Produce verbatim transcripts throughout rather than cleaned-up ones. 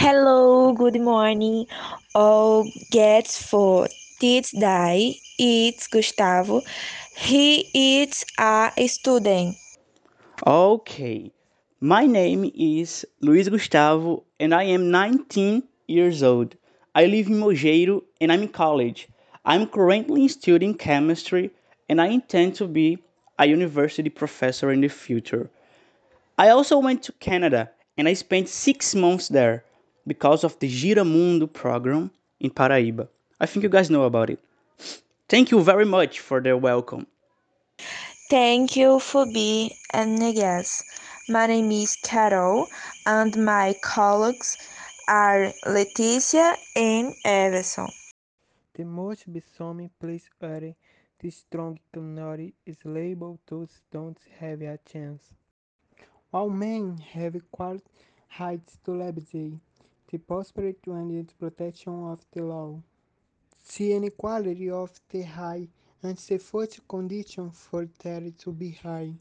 Hello, good morning, all gets for this day. It's Gustavo. He is a student. Okay, my name is Luiz Gustavo and I am nineteen years old. I live in Mogeiro and I'm in college. I'm currently studying chemistry and I intend to be a university professor in the future. I also went to Canada and I spent six months there because of the Giramundo program in Paraíba. I think you guys know about it. Thank you very much for the welcome. Thank you for being a guest. My name is Carol, and my colleagues are Leticia and Everson. The most besoming place are the strong community is labeled those don't have a chance. All men have equal rights to liberty, the prosperity and the protection of the law. The inequality of the high and the first condition for that to be high.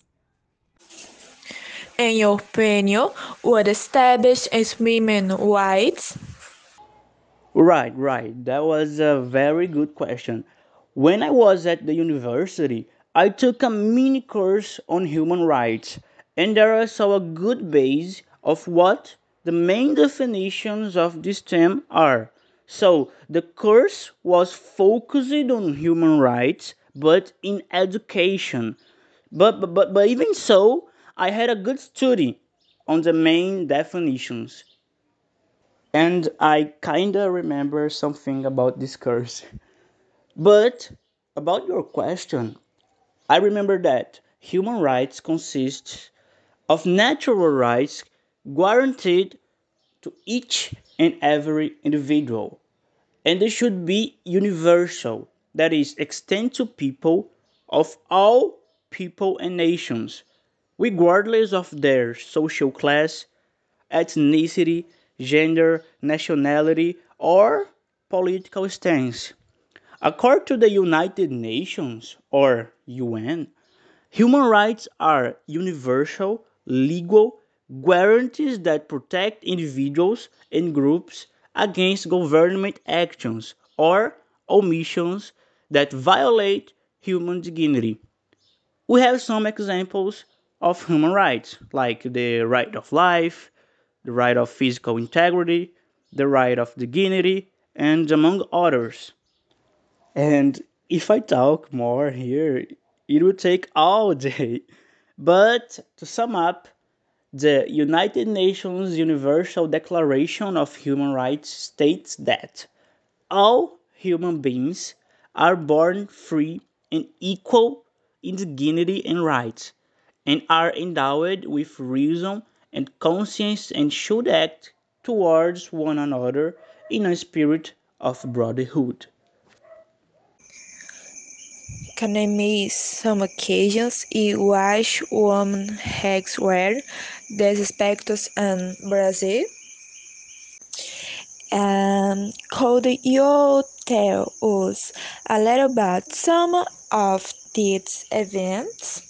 In your opinion, what establish as women rights? Right, right. That was a very good question. When I was at the university, I took a mini course on human rights, and there I saw a good base of what the main definitions of this term are. So the course was focused on human rights, but in education. But, but, but, but even so, I had a good study on the main definitions. And I kinda remember something about this curse. But about your question, I remember that human rights consist of natural rights guaranteed to each and every individual, and they should be universal, that is, extend to people of all people and nations, regardless of their social class, ethnicity, gender, nationality, or political stance. According to the United Nations, or U N, human rights are universal, legal guarantees that protect individuals and groups against government actions or omissions that violate human dignity. We have some examples of human rights, like the right of life, the right of physical integrity, the right of dignity, and among others. And if I talk more here, it would take all day. But to sum up, the United Nations Universal Declaration of Human Rights states that all human beings are born free and equal in dignity and rights, and are endowed with reason and conscience and should act towards one another in a spirit of brotherhood. Can I miss some occasions in which women has were disrespected in Brazil? Um, could you tell us a little about some of these events?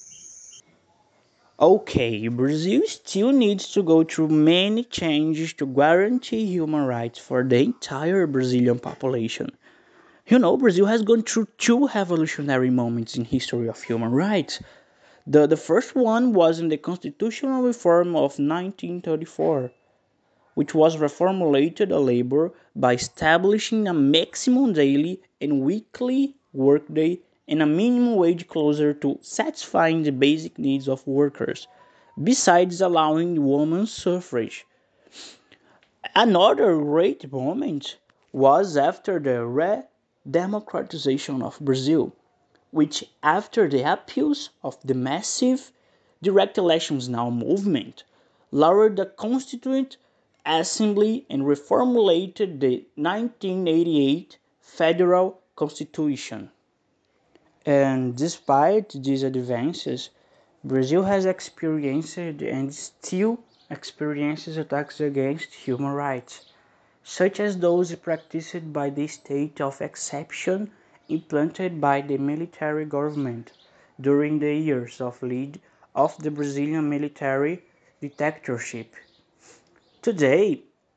Okay, Brazil still needs to go through many changes to guarantee human rights for the entire Brazilian population. You know, Brazil has gone through two revolutionary moments in history of human rights. The, the first one was in the constitutional reform of nineteen thirty-four, which was reformulated a labor by establishing a maximum daily and weekly workday and a minimum wage closer to satisfying the basic needs of workers, besides allowing women's suffrage. Another great moment was after the re-democratization of Brazil, which, after the appeals of the massive direct elections now movement, lowered the Constituent Assembly and reformulated the nineteen eighty-eight Federal Constitution. And despite these advances, Brazil has experienced and still experiences attacks against human rights, such as those practiced by the state of exception implanted by the military government during the years of lead of the Brazilian military dictatorship. Today,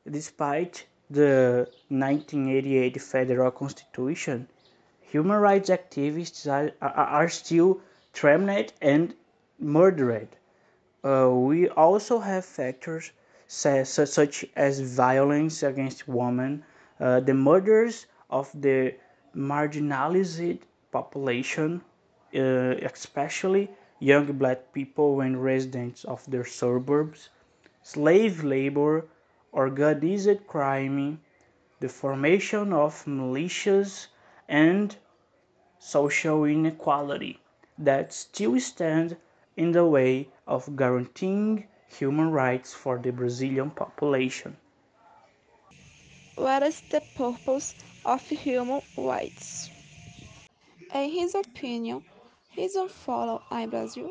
Despite the nineteen eighty-eight federal constitution, human rights activists are, are, are still threatened and murdered. Uh, we also have factors sa- su- such as violence against women, uh, the murders of the marginalized population, uh, especially young black people and residents of their suburbs, slave labor, organized crime, the formation of militias, and social inequality that still stand in the way of guaranteeing human rights for the Brazilian population. What is the purpose of human rights? In his opinion, reason follow in Brazil?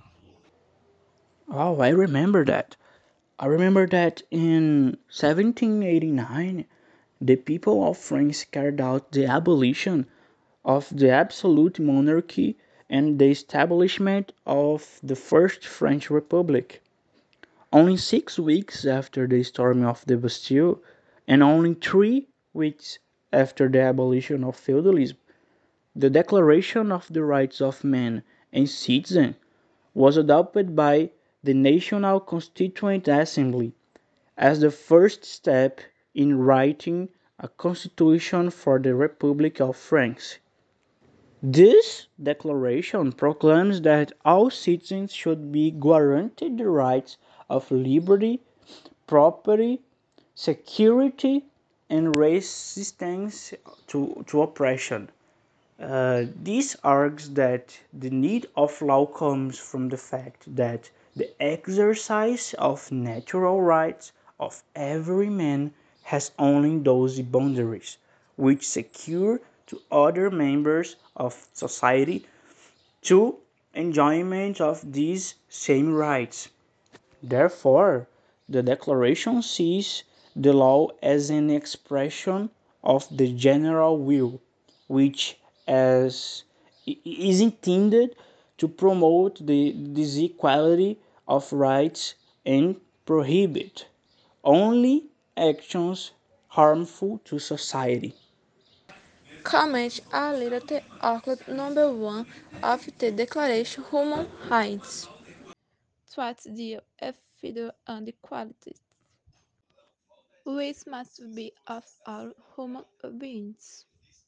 Oh, I remember that. I remember that in seventeen eighty-nine, the people of France carried out the abolition of the absolute monarchy and the establishment of the First French Republic. Only six weeks after the storming of the Bastille, and only three weeks after the abolition of feudalism, the Declaration of the Rights of Man and Citizen was adopted by the National Constituent Assembly as the first step in writing a constitution for the Republic of France. This declaration proclaims that all citizens should be guaranteed the rights of liberty, property, security, and resistance to, to oppression. Uh, this argues that the need of law comes from the fact that the exercise of natural rights of every man has only those boundaries which secure to other members of society to enjoyment of these same rights. Therefore, the Declaration sees the law as an expression of the general will, which as is intended to promote the this equality of rights and prohibit only actions harmful to society. Comment a little the article number one of the Declaration of Human Rights. What deal with freedom and equality, which must be of all human beings.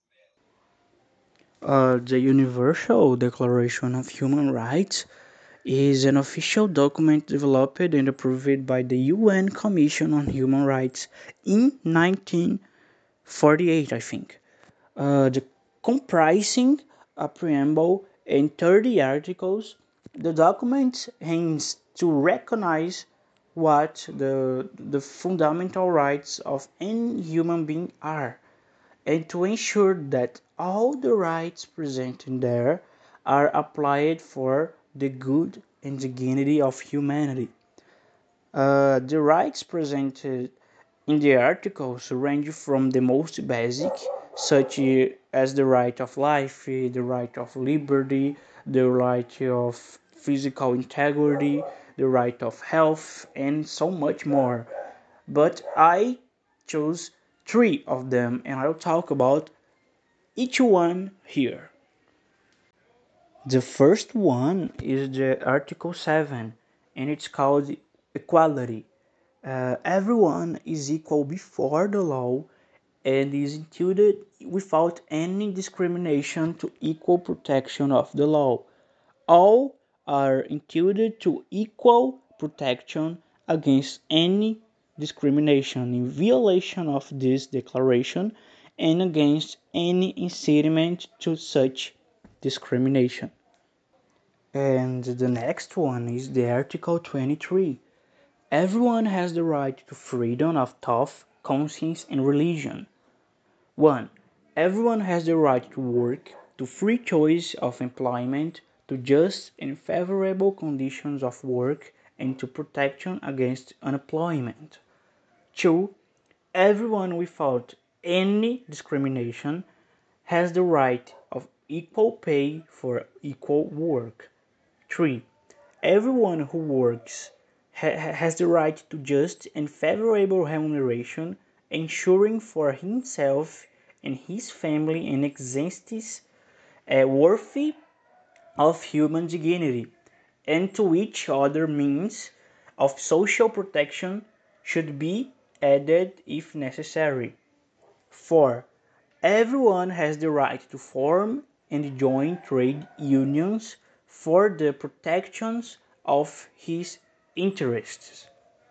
Uh, the Universal Declaration of Human Rights is an official document developed and approved by the U N Commission on Human Rights in nineteen forty-eight, I think. Uh, the comprising a preamble and thirty articles, the document aims to recognize what the, the fundamental rights of any human being are and to ensure that all the rights presented there are applied for the good and dignity of humanity. Uh, the rights presented in the articles range from the most basic, such as the right of life, the right of liberty, the right of physical integrity, the right of health, and so much more. But I chose three of them, and I'll talk about each one here. The first one is the Article seven, and it's called equality. Uh, everyone is equal before the law and is entitled without any discrimination to equal protection of the law. All are entitled to equal protection against any discrimination in violation of this declaration and against any incitement to such discrimination. And the next one is the Article twenty-three. Everyone has the right to freedom of thought, conscience, and religion. one. Everyone has the right to work, to free choice of employment, to just and favorable conditions of work, and to protection against unemployment. two. Everyone without any discrimination has the right of equal pay for equal work. three. Everyone who works ha- has the right to just and favorable remuneration, ensuring for himself and his family an existence uh, worthy of human dignity, and to which other means of social protection should be added if necessary. four. Everyone has the right to form and join trade unions for the protection of his interests.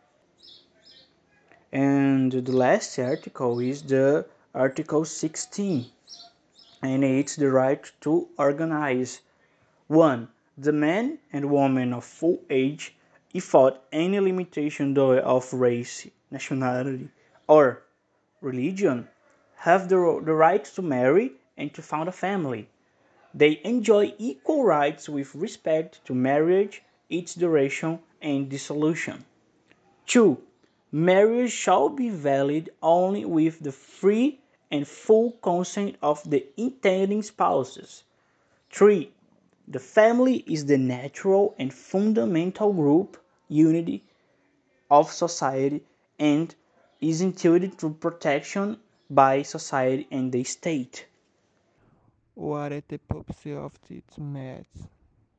And the last article is the Article sixteen, and it's the right to organize. one. The man and woman of full age, without any limitation of race, nationality, or religion, have the, the right to marry and to found a family. They enjoy equal rights with respect to marriage, its duration, and dissolution. two. Marriage shall be valid only with the free and full consent of the intending spouses. three. The family is the natural and fundamental group unity of society and is entitled to protection by society and the state. What is the purpose of its maths?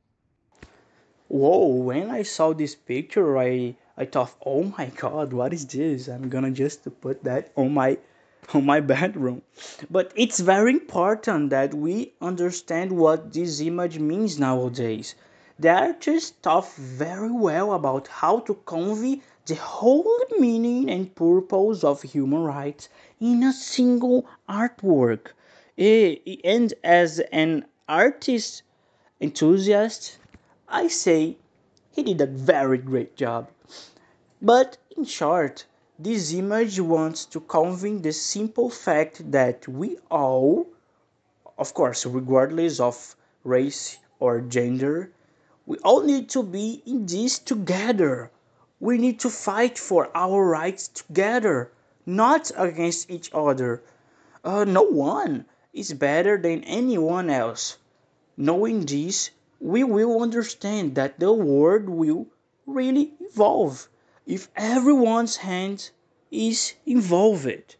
Whoa, when I saw this picture, I I thought, oh my god, what is this? I'm gonna just put that on my on my bedroom. But it's very important that we understand what this image means nowadays. The artist thought very well about how to convey the whole meaning and purpose of human rights in a single artwork. Eh, And as an artist enthusiast, I say he did a very great job. But in short, this image wants to convey the simple fact that we all, of course, regardless of race or gender, we all need to be in this together. We need to fight for our rights together, not against each other. Uh, no one is better than anyone else. Knowing this, we will understand that the world will really evolve if everyone's hand is involved.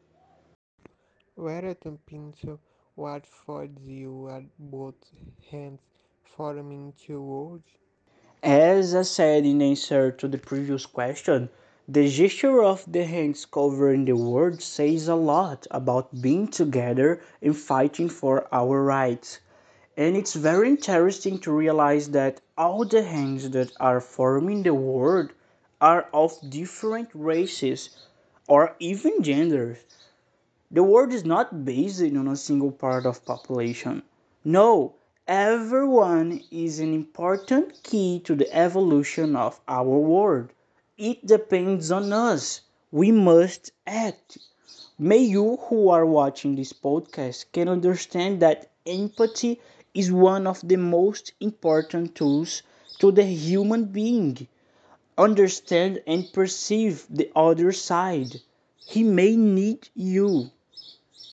Whereas pencil what for you at both hands forming two words? As I said in answer to the previous question, the gesture of the hands covering the world says a lot about being together and fighting for our rights. And it's very interesting to realize that all the hands that are forming the world are of different races or even genders. The world is not based on a single part of population. No, everyone is an important key to the evolution of our world. It depends on us. We must act. May you who are watching this podcast can understand that empathy is one of the most important tools to the human being. Understand and perceive the other side. He may need you.